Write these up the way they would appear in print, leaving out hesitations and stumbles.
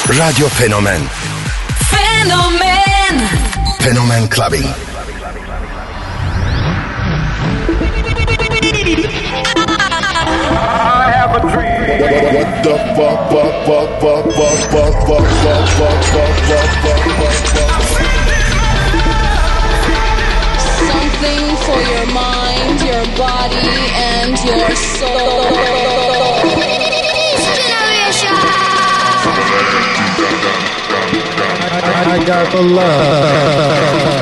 Radyo Fenomen. Fenomen. Fenomen Clubbing. I have a dream. What the Something for your mind, your body, and your soul. I got the love.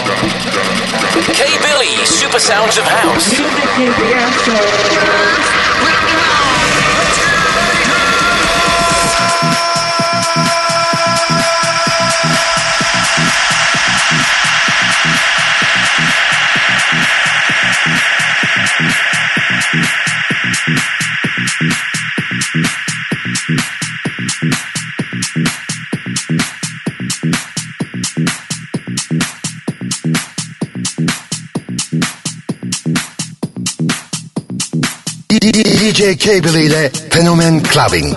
K Billy, Super Sounds of House. Music is the answer. DJ Cable ile Fenomen Clubbing.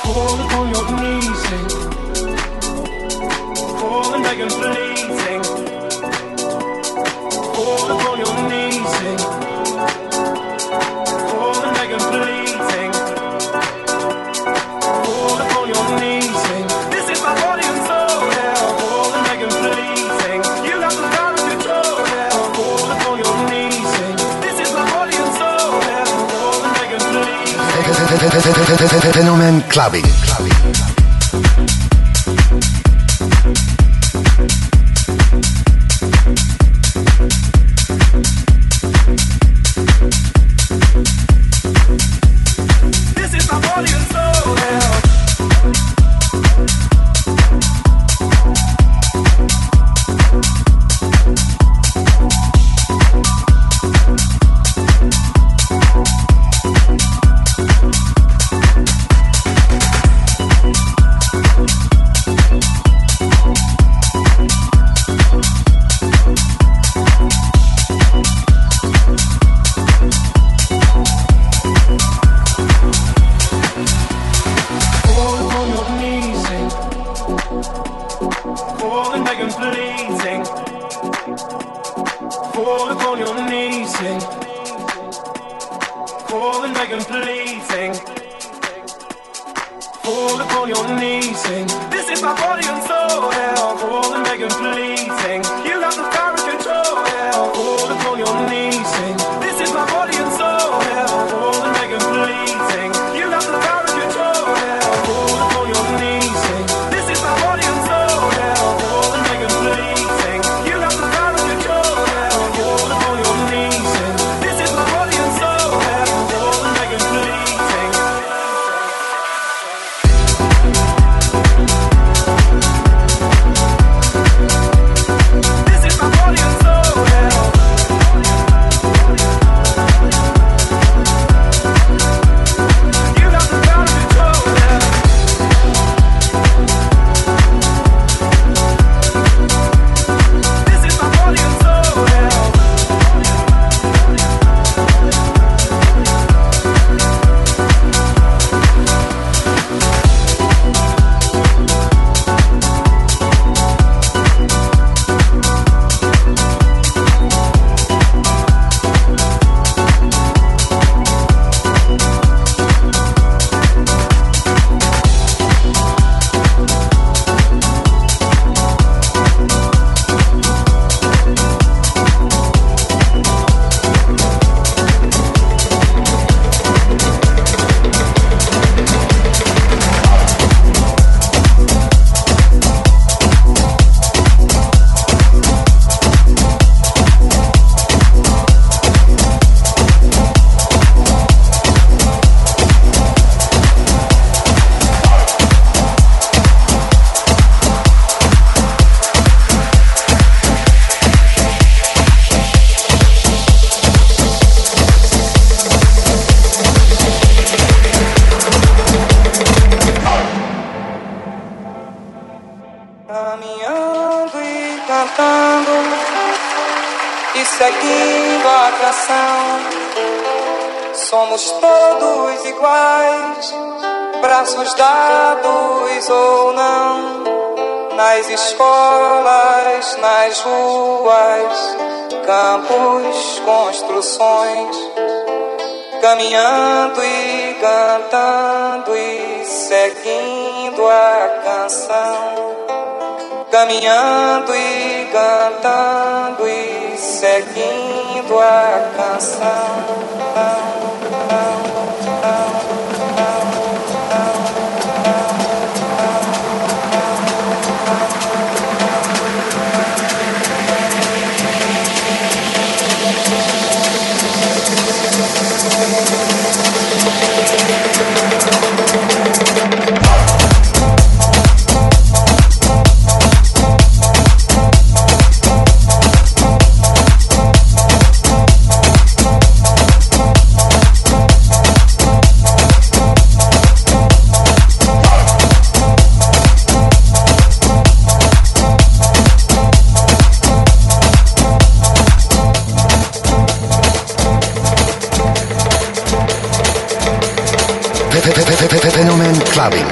Fall upon your knees, sing. Fall and beg and plead, sing. Fall upon your knees, sing. Fall and beg and plead, sing. Fall upon your knees, sing. This is my body and soul, yeah. Fall and beg and plead, sing. You got the power to control, yeah. Fall upon your knees, sing. This is my body and soul, yeah. Fall and beg and plead. Fenomen Clubbing. This is my body and soul, yeah. seguindo a canção. Somos todos iguais, braços dados ou não, nas escolas, nas ruas, campos, construções, caminhando e cantando e seguindo a canção. Caminhando e cantando e seguindo a canção. Fenomen Clubbing.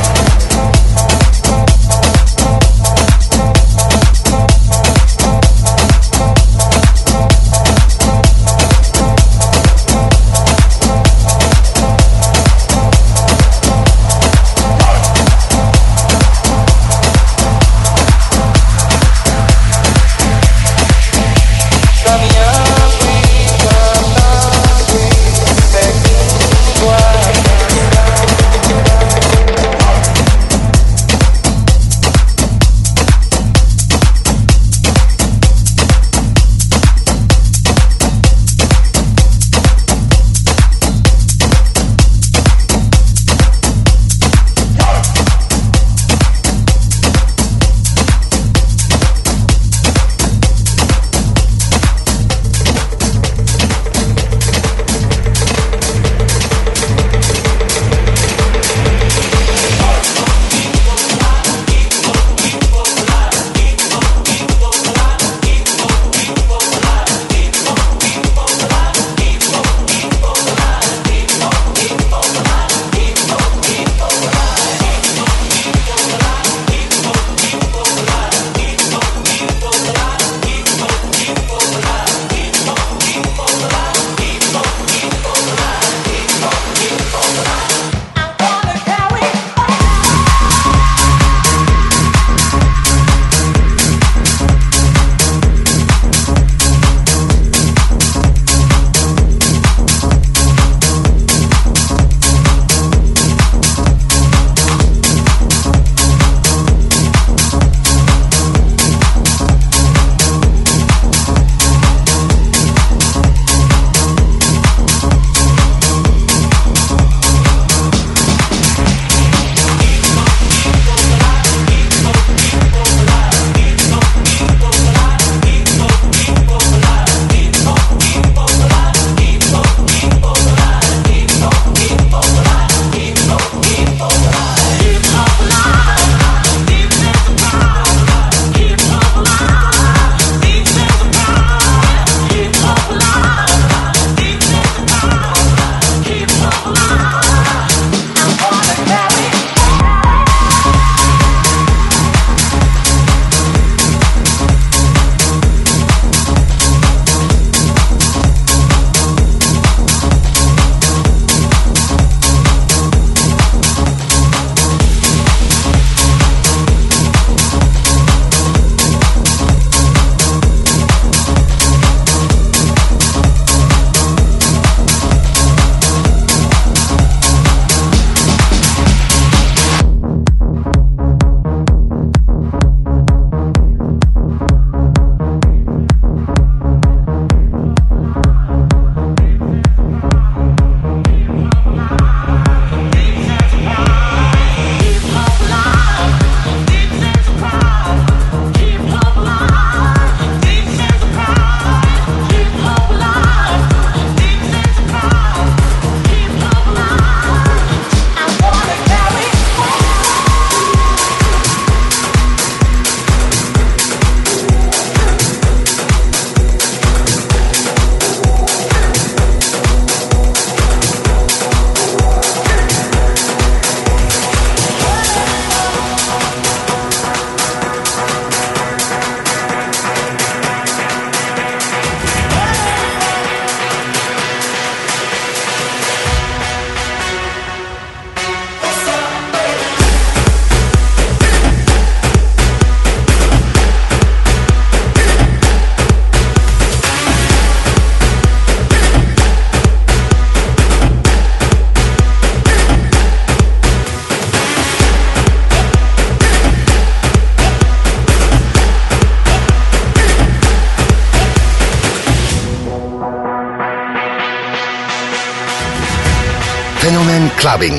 Fenomen Clubbing.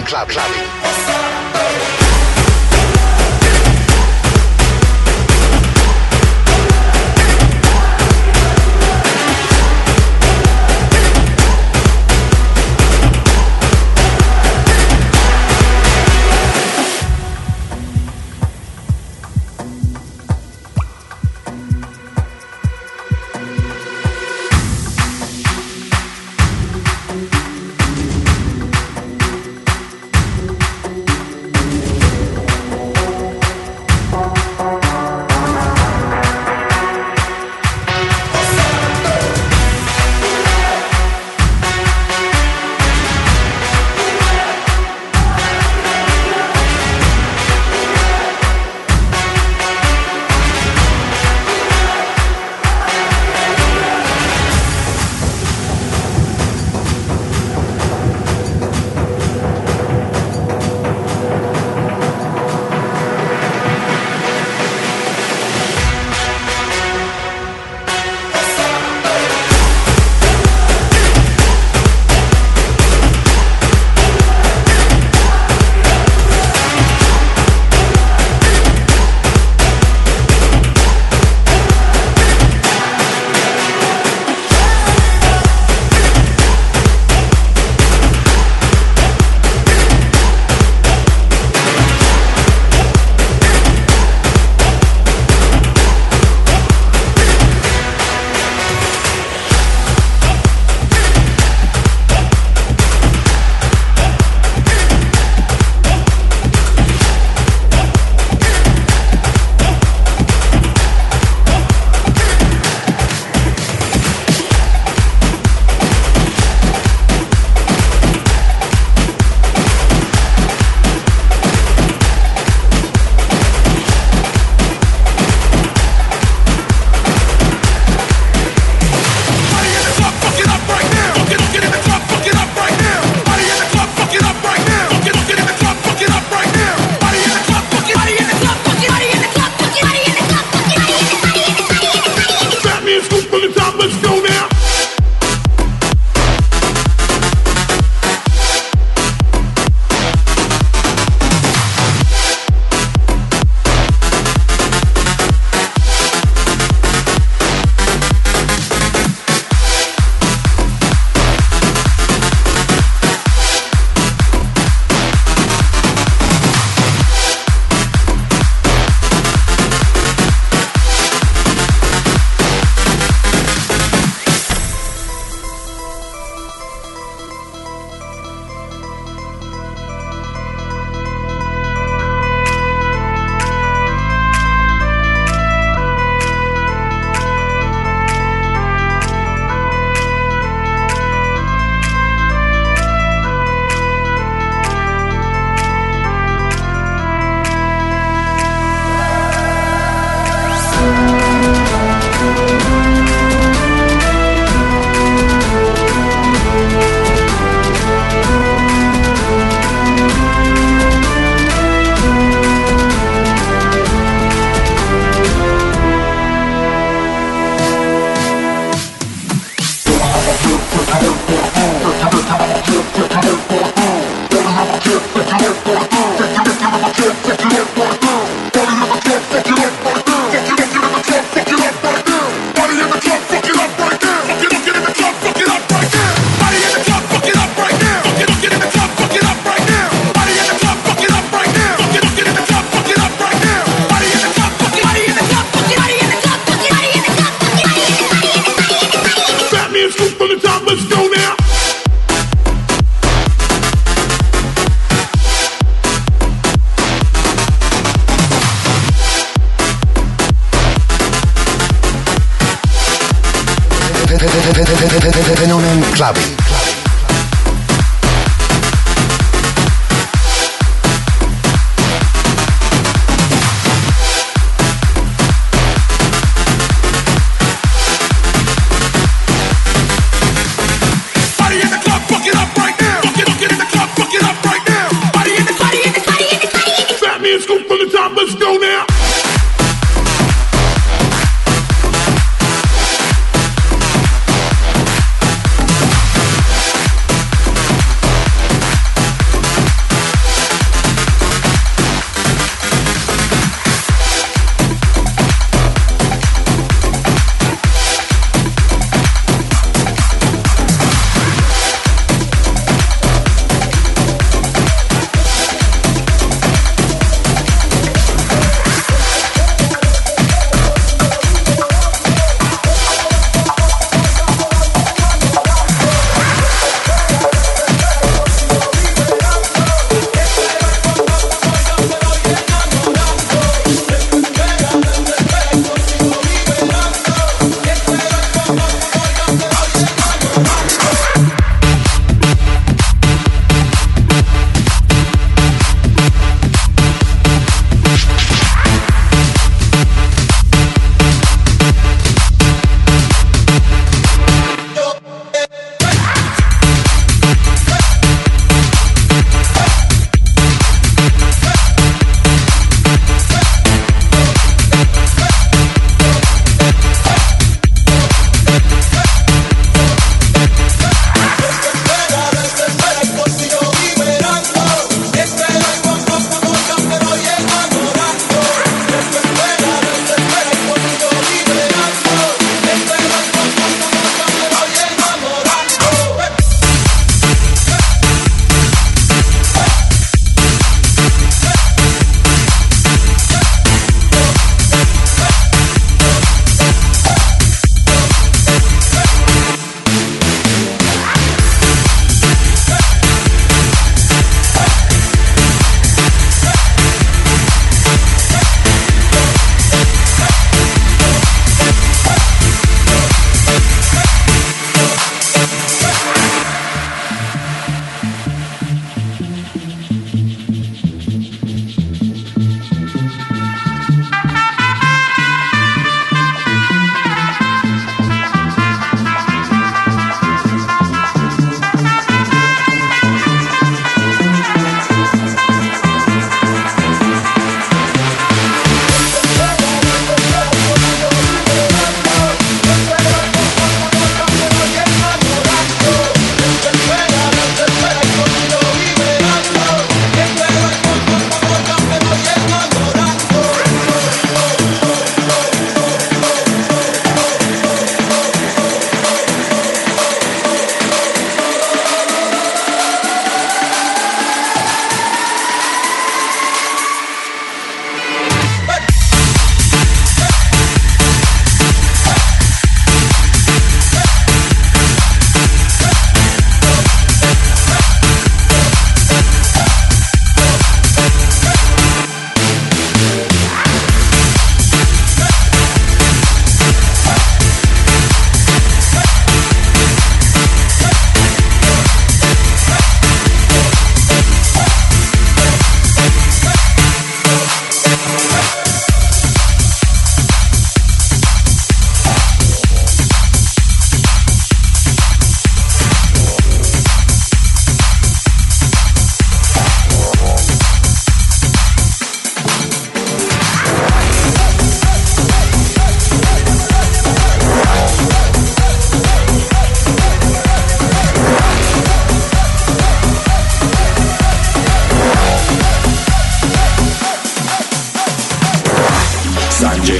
Fenomen Clubbing.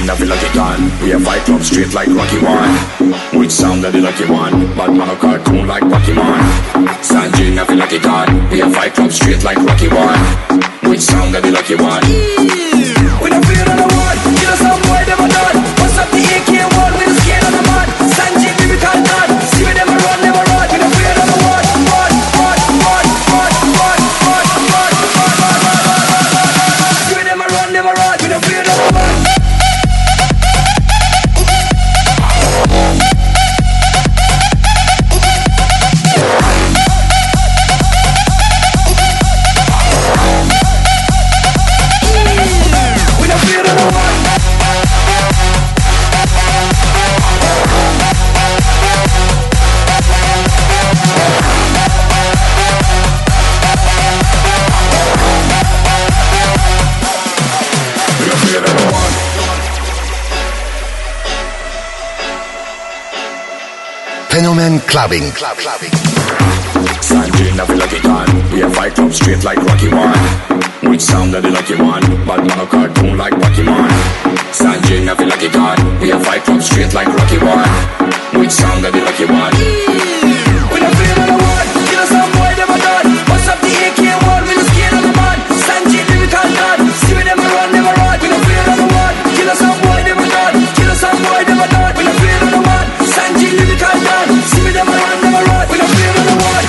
Sanjay, feel like it done. We have fight club straight like Rocky One. Which sound of the lucky one? Bad man a cartoon like Pokemon. Sanjay, feel like it done. We have fight club straight like Rocky One. Which sound of the lucky one? We don't fear on the one. Kill us some boy, never done. What's up the AK-1 with the skin on the mud? Sanjay, lyrical done. See me never run, never run. We don't fear on the one. See me never run, never run. We don't fear on the one. Fenomen Clubbing. Sanjay, feel like it done. We have fight club straight like Rocky One. Which sound of the lucky one? Bad man a cartoon like Pokemon. Sanjay, feel like it done. We have fight club straight like Rocky One. Which sound of the lucky one? We don't fear on the one. Kill us some boy, never done. What's up the AK-1 with the skin on the mud? Sanjay, lyrical done. See me never run, never run. We don't fear on the one. Kill us some boy, never done. Kill us some boy, never done. We don't fear on the one. Sanjay, lyrical done. See me never run, never run. We don't fear on the one.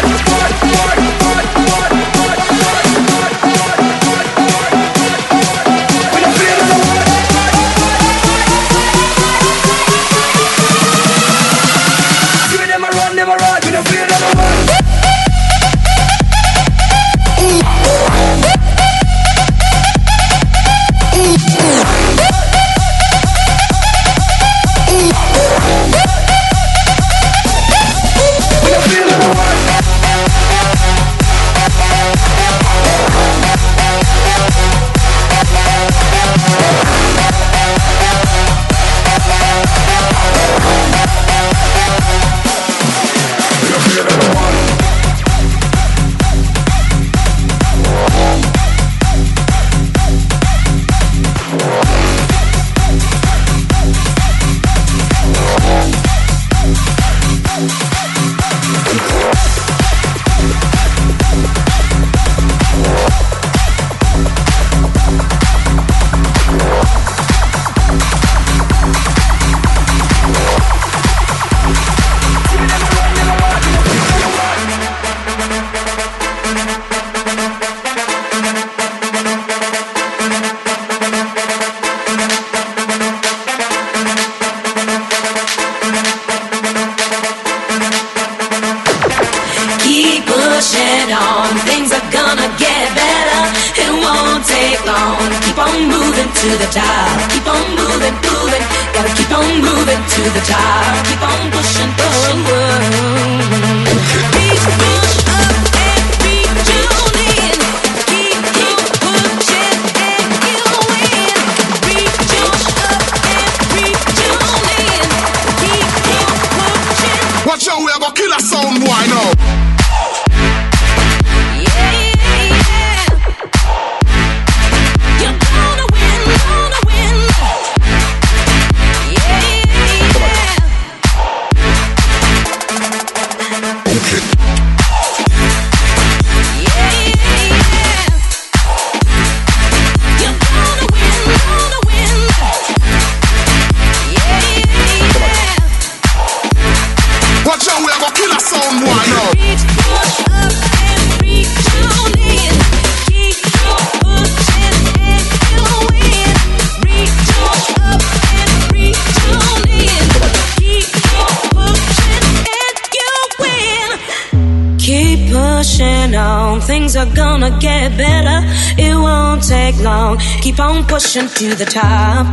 Things are gonna get better. It won't take long. Keep on pushing to the top.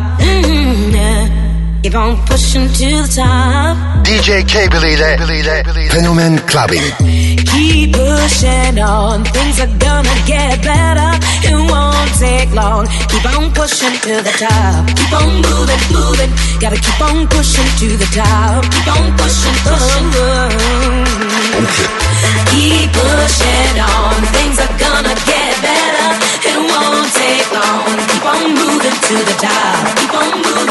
Yeah. Keep on pushing to the top. DJ K-Billy ile Fenomen Clubbing. Keep pushing on. Things are gonna get better. It won't take long. Keep on pushing to the top. Keep on moving, moving. Gotta keep on pushing to the top. Keep on pushing, pushing. Okay. Keep pushing on. Things are gonna get better. It won't take long. Keep on moving to the top. Keep on moving.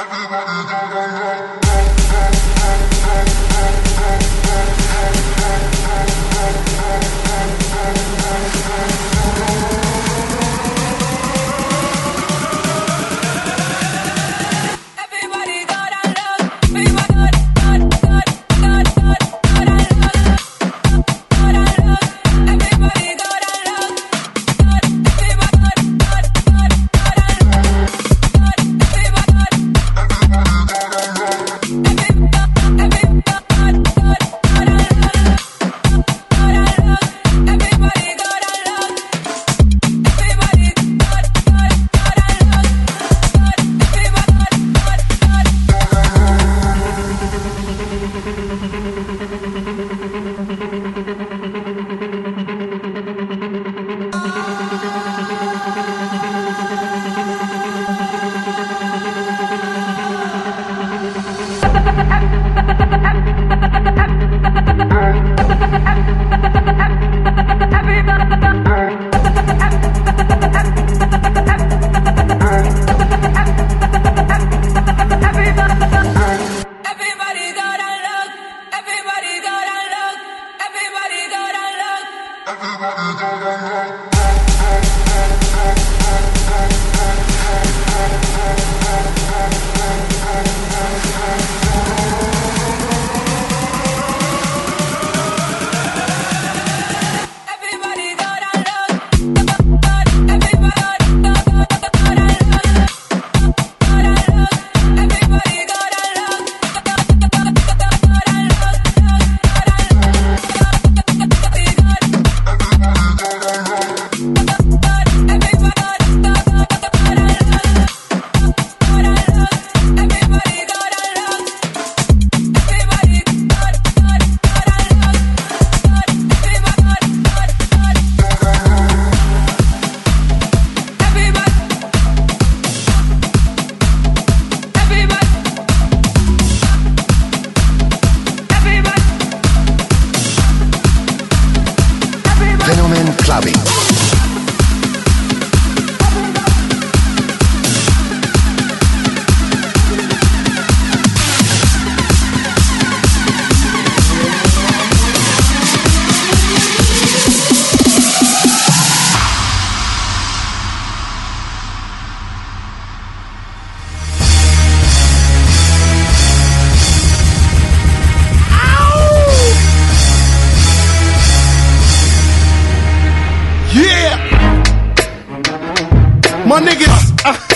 My niggas,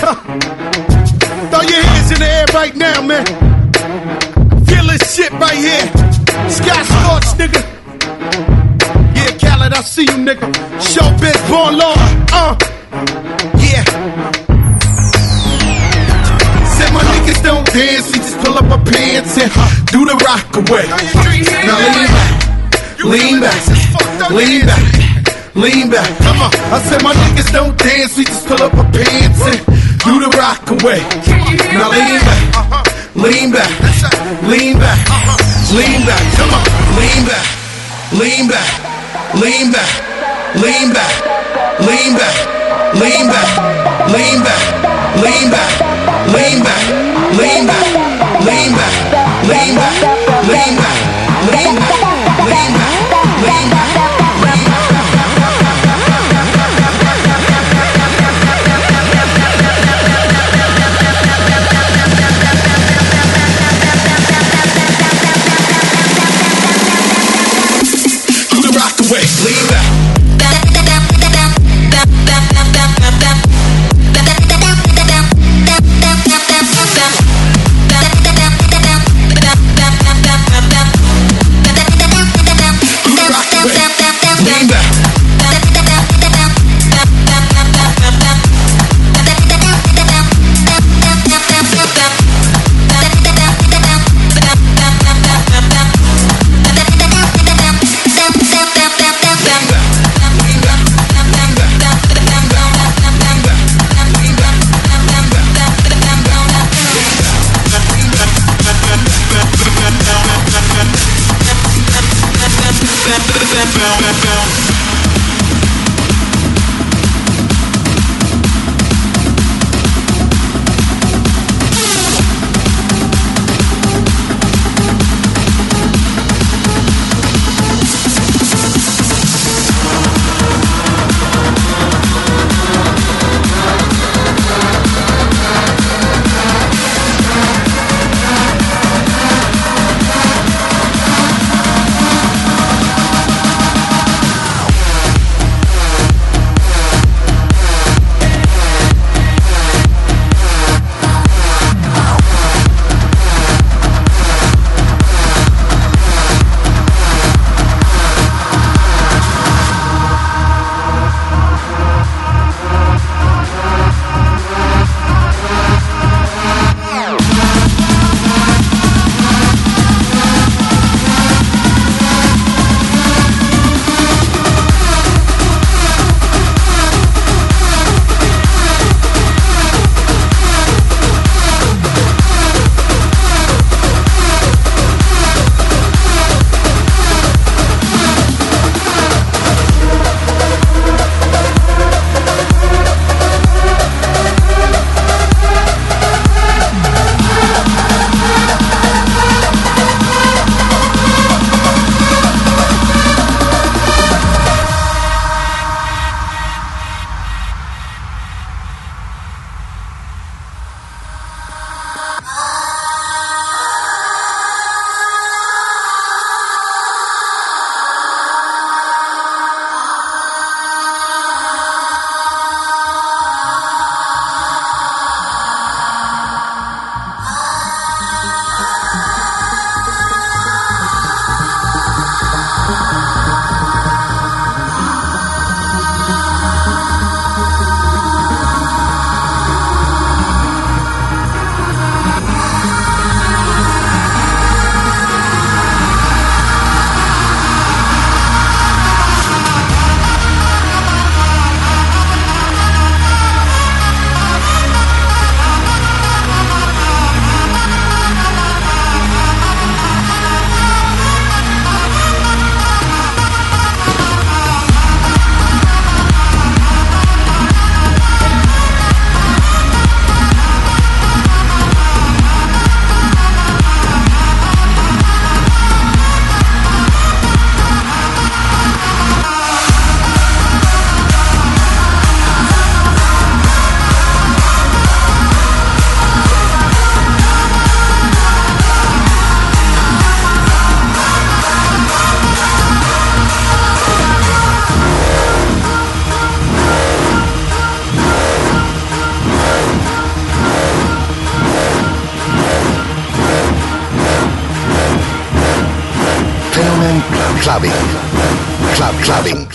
throw your hands in the air right now, man. Feel this shit right here. Sky Sports, nigga. Yeah, Khaled, I see you, nigga. Showbiz, born law. Yeah. Said my niggas don't dance, we just pull up our pants and do the rock away. Now lean back, lean back. Lean back, come on. I said my niggas don't dance, we just pull up our pants and do the rock away. Now lean back, lean back, lean back, lean back, come on. Lean back, lean back, lean back, lean back, lean back, lean back, lean back, lean back, lean back, lean back, lean back, lean back, lean back, lean back, lean back, lean back. Lean back. Clubbing.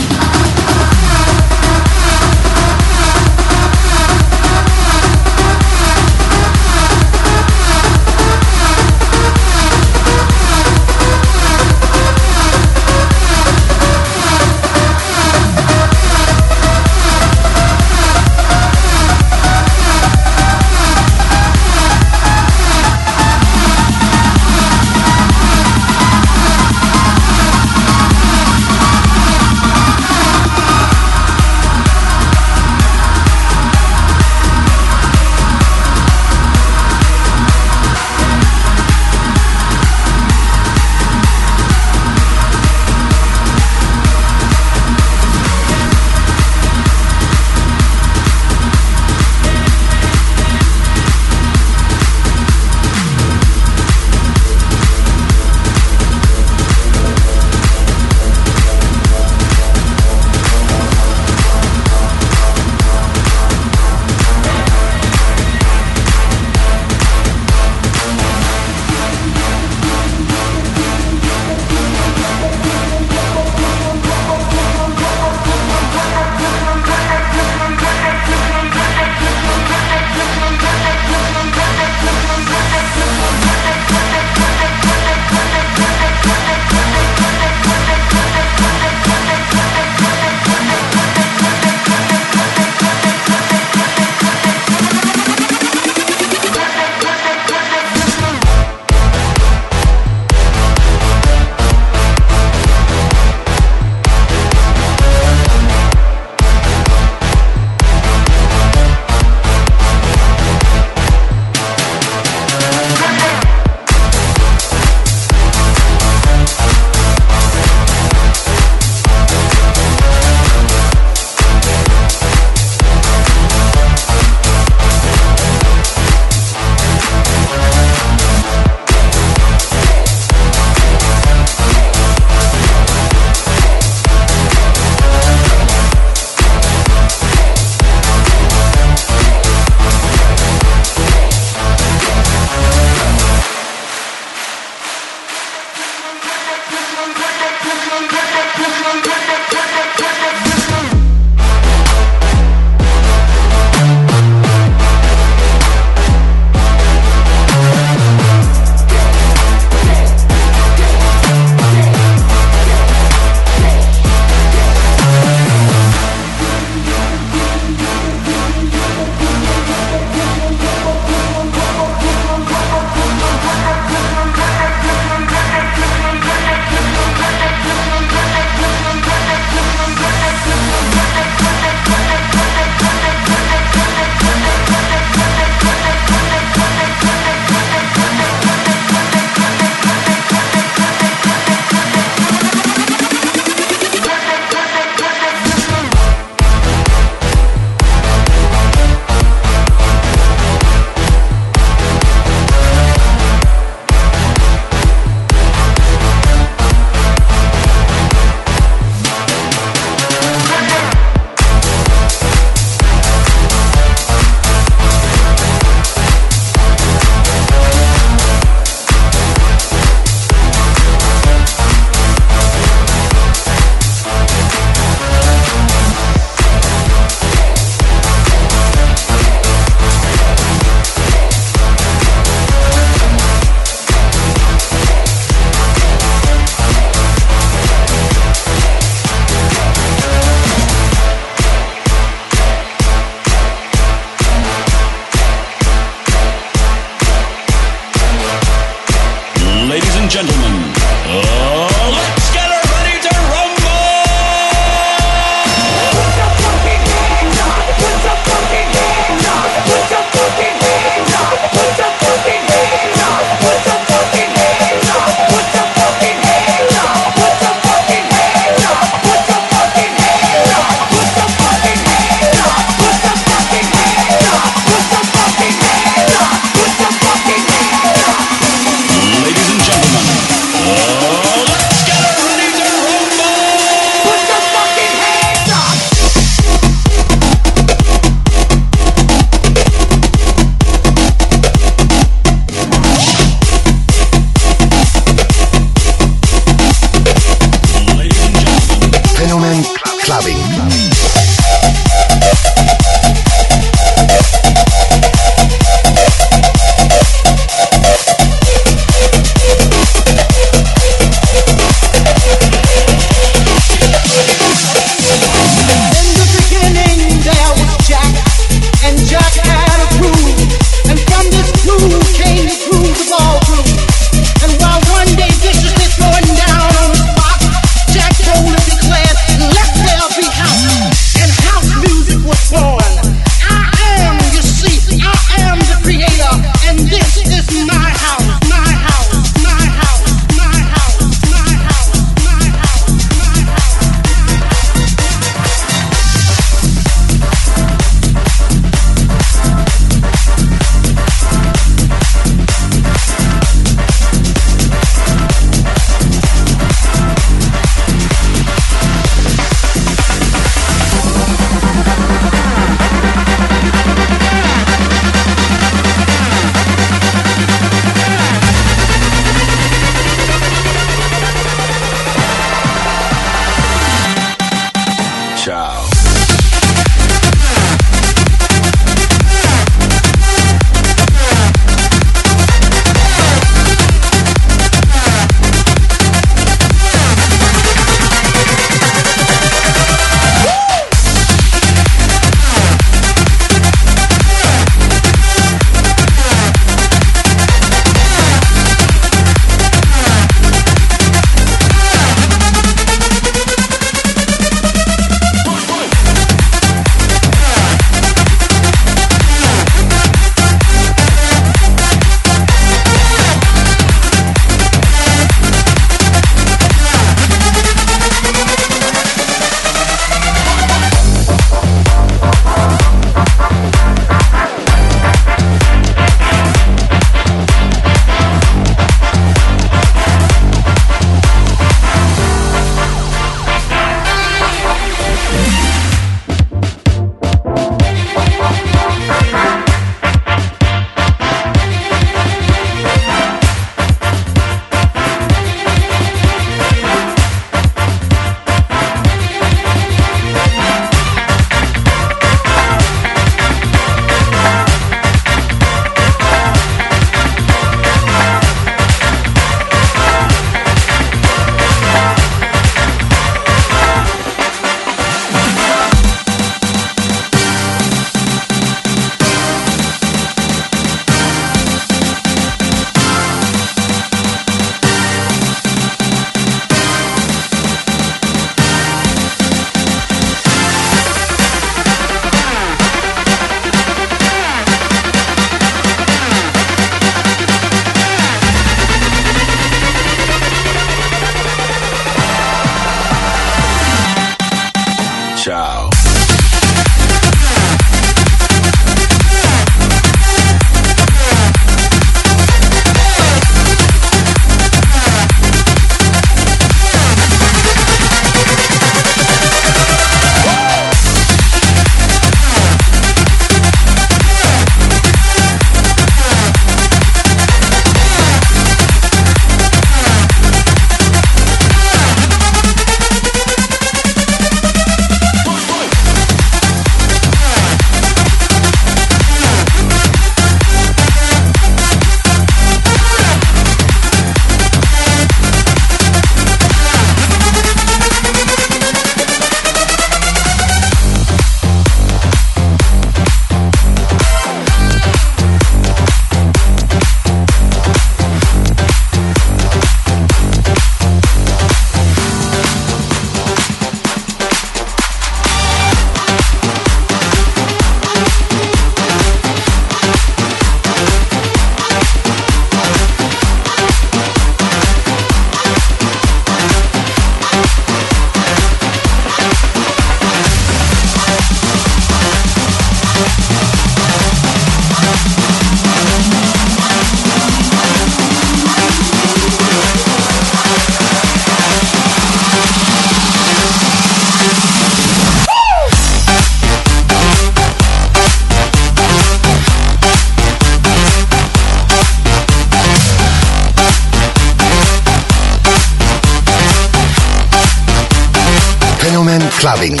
Clubbing.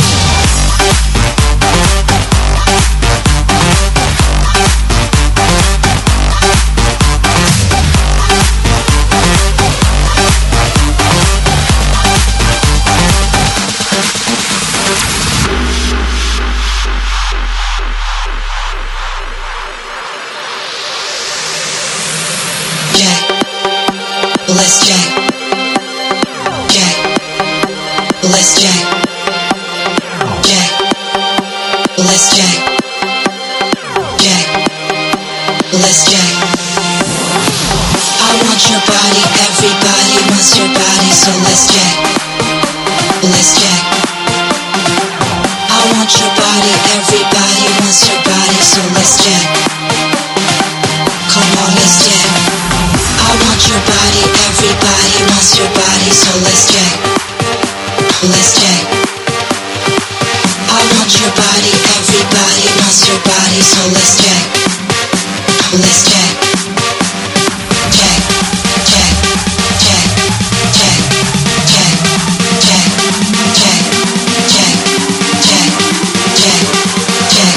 Let's jack. Let's jack. Let's jack. Let's jack. I want your body, everybody wants your body, so let's jack. Let's jack. I want your body, everybody wants your body, so let's jack. Come on, let's jack. I want your body, everybody wants your body, so let's jack. Let's jack. I want your body, everybody wants your body, so let's jack. Let's jack. Jack, jack, jack, jack, jack, jack, jack, jack, jack, jack, jack, jack,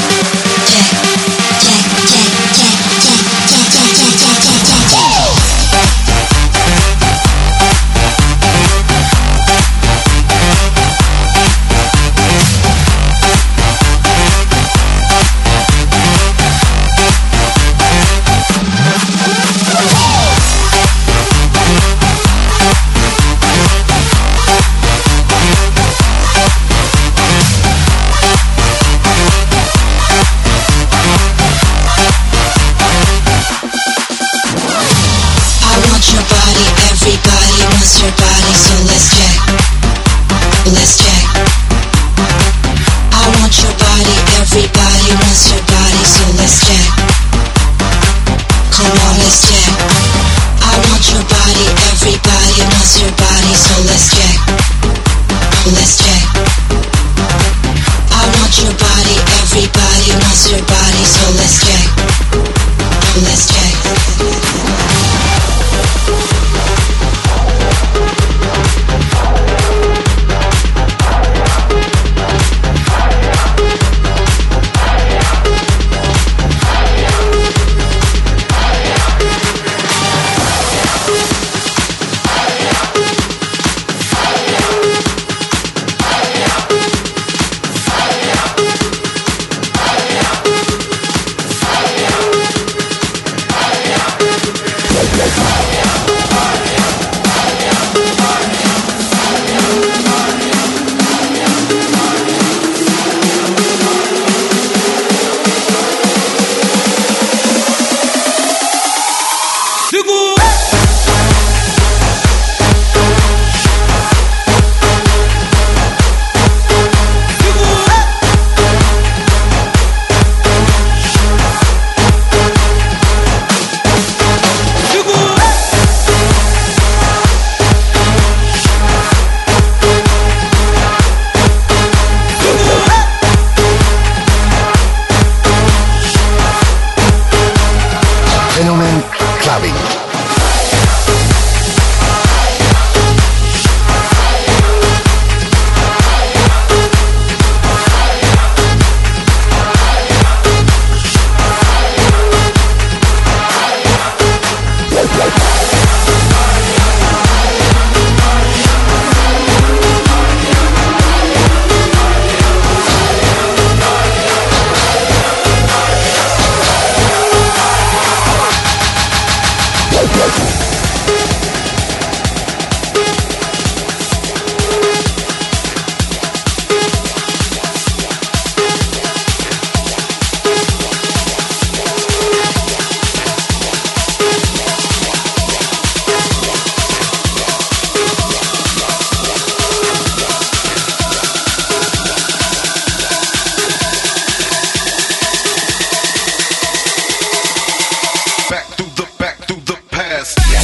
Back through the past.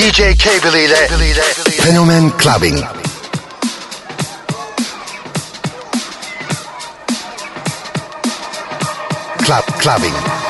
DJ K-Billy ile Fenomen Clubbing. Clubbing.